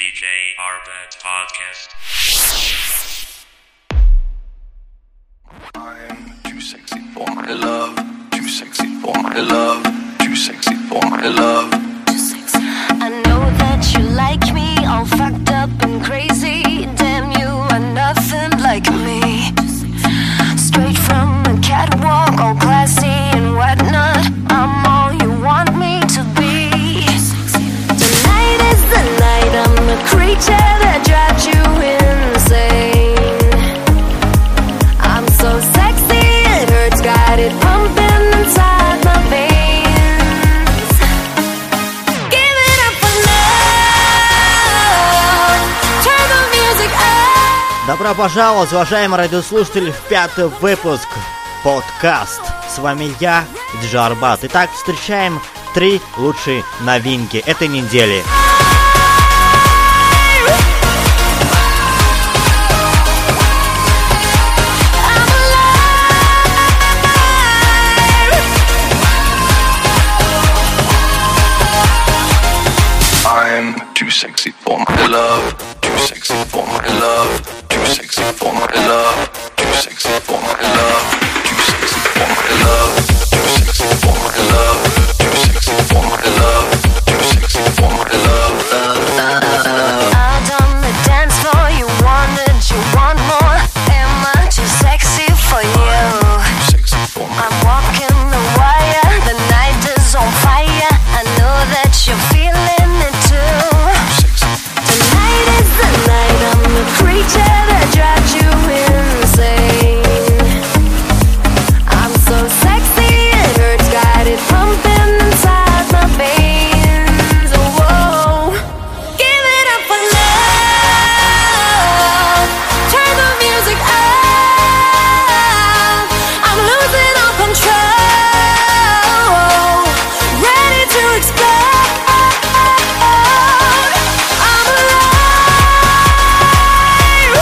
DJ Arbat Podcast. I'm too sexy for my love, too sexy for my love, too sexy for my love. I know that you like me, all fucked up and crazy. Damn, you are nothing like me. Straight from the catwalk, all classy and whatnot. I'm all you want me to be. Tonight is the night, I'm a creature that drives you insane. I'm so sexy, it hurts, got it pumping inside my veins. Give it up for love, turn the music up. Добро пожаловать, уважаемые радиослушатели, в пятый выпуск подкаст. С вами я, Диджей Арбат. Итак, встречаем 3 лучшие новинки этой недели. I'm too sexy for my love, too sexy for my love, too sexy for my love, too sexy for my love, too sexy for my love, too sexy for my love, too sexy for my love, too sexy for my love. Out on the dance floor, you want more. Am I too sexy for you? Too sexy for my I'm walking the wire, the night is on fire. I know that you're feeling it too. Tonight is the night, I'm the creature that drives you insane. I'm so sexy, it hurts, got it pumping inside my veins. Whoa, give it up for love, turn the music up. I'm losing all control, ready to explode. I'm alive,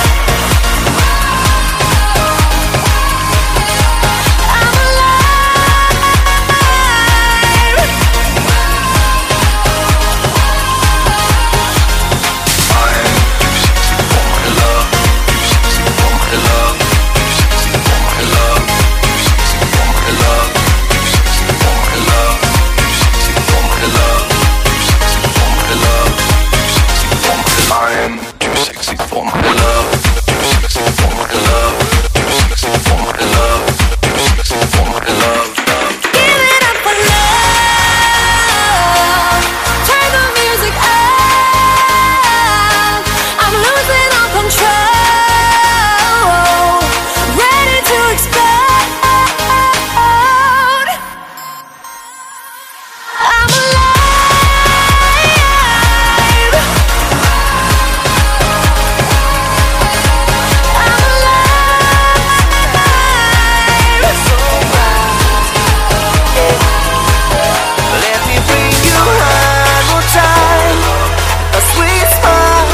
I'm alive. I'm too sexy for my love, too sexy for my love, too sexy for my love, too sexy for my love, too sexy for my love, too sexy for my love, too sexy for my love, too sexy for my love. I'm too sexy for my love, too sexy for my love, too sexy for my love, too sexy for my love. Give it up for love, turn the music up. I'm losing all control, ready to explode. I'm alive, I'm alive. So let me bring you one more time, a sweet smile.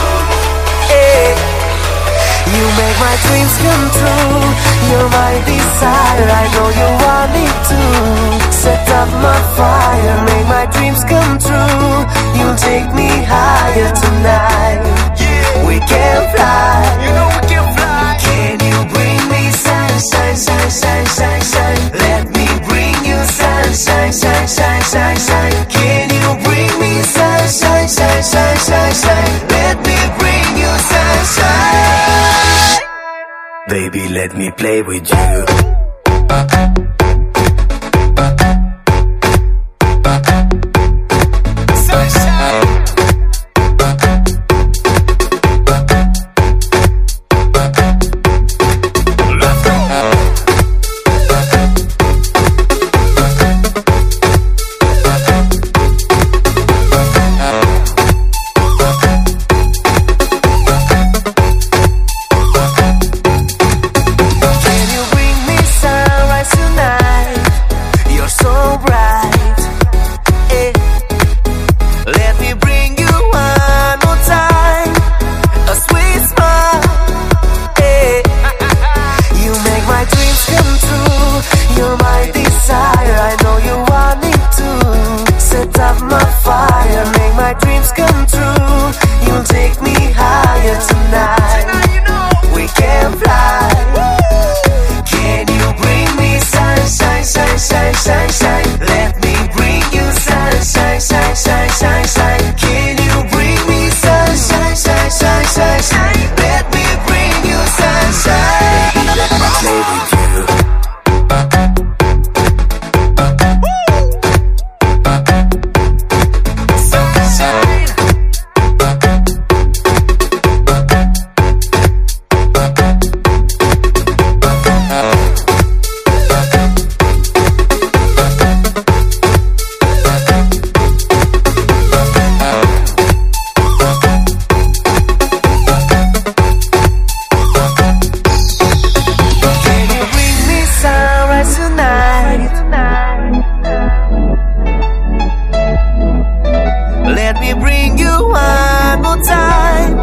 You make my dreams come true. You're my desire. I know you want me to set up my fire, make my dreams come true. You'll take me higher tonight. We can fly. You know we can fly. Can you bring me sunshine, shine, shine, shine, shine? Let me bring you sunshine, shine, shine, shine, shine. Can you bring me sunshine, shine, shine, shine, shine? Let me bring you sunshine. Baby, let me play with you. Can you bring me sunrise tonight? You're so bright. Let me bring you one more time, a sweet smile. You make my dreams come true. You're my desire. I know you want me to set up my fire, make my dreams come true. You'll take bring you one more time.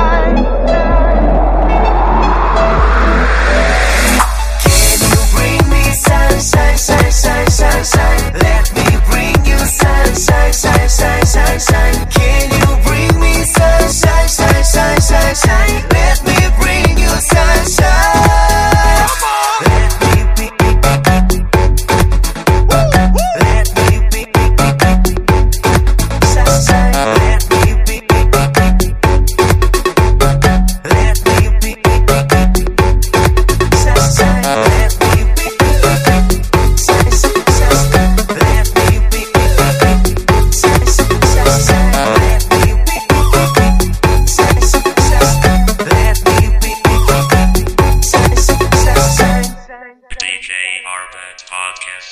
Can you bring me sunshine, shine, shine, shine, shine? Let me bring you sunshine, shine, shine, shine, shine. Can you bring me sunshine, shine, shine, shine, shine? Let me bring you sunshine. Let me be. Let me be. Sunshine. Let me be. Let me be. Sunshine. Let me be. DJ Arbet Podcast.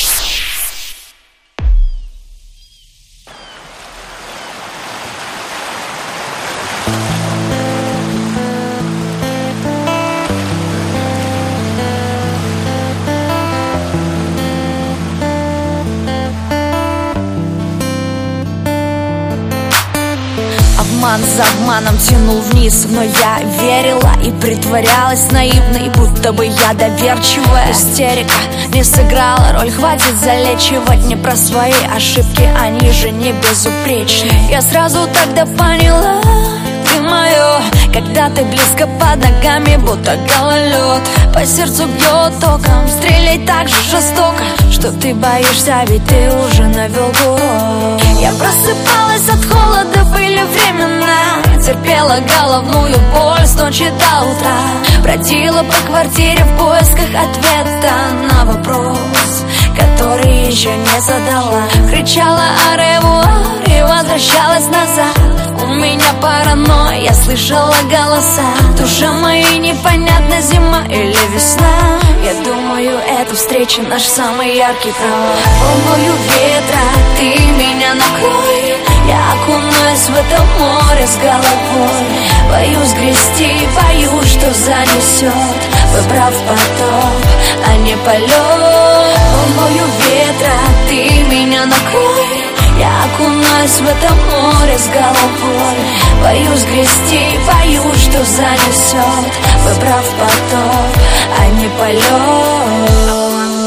Обман за обманом тянул вниз, но я верила и притворялась наивной, будто бы я доверчивая. Истерика не сыграла роль, хватит залечивать не про свои ошибки, они же не безупречны. Я сразу тогда поняла, ты мое, когда ты близко под ногами, будто гололед. По сердцу бьет током, стреляй так же жестоко, что ты боишься, ведь ты уже навел курок. Я просыпалась от холода, были времена, терпела головную боль с ночи до утра, бродила по квартире в поисках ответа на вопрос, который еще не задала. Кричала «Аревуар» и возвращалась назад. У меня паранойя, я слышала голоса. Душа моя непонятна, зима или весна. Я думаю, эта встреча наш самый яркий провал. Волною ветра ты меня накрой, я окунаюсь в это море с головой. Боюсь грести, боюсь, что занесет, выбрав потоп, а не полет. Волною ветра ты меня накрой, я окунаюсь в это море с головой. Боюсь грести, боюсь, что занесет, выбрав потоп, а не полет.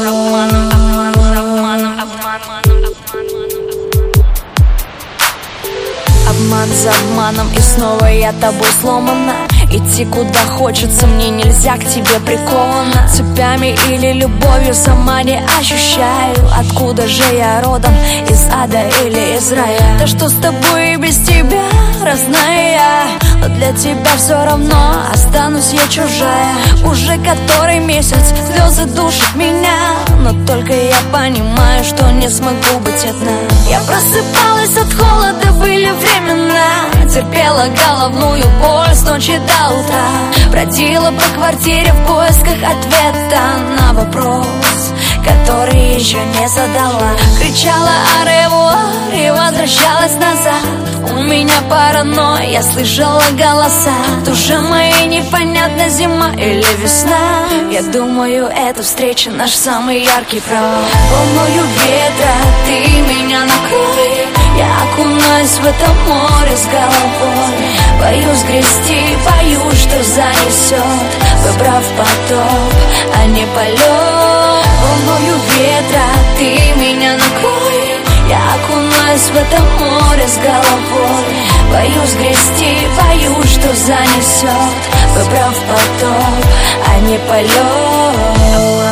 Обман за обманом, и снова я тобой сломана. Идти куда хочется, мне нельзя к тебе прикована. Цепями или любовью сама не ощущаю. Откуда же я родом, из ада или из рая? Да что с тобой и без тебя, родная я, но для тебя все равно останусь я чужая. Уже который месяц слезы душат меня, но только я понимаю, что не смогу быть одна. Я просыпалась от холода, были времена, терпела головную боль с ночи до утра, бродила по квартире в поисках ответа на вопрос, который еще не задала. Кричала «Аревуар» и возвращалась назад. У меня паранойя, я слышала голоса. Душа моя непонятна, зима или весна. Я думаю, эта встреча наш самый яркий провал. Волною ветра ты меня накрой, я окунаюсь в это море с головой. Боюсь грести, боюсь, что занесет, выбрав потоп, а не полет. Волною ветра ты меня накрой, я окунаюсь в это море с головой. Боюсь грести, боюсь, что занесет, выбрав потоп, а не полет.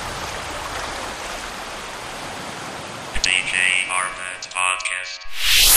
DJ Arbet Podcast.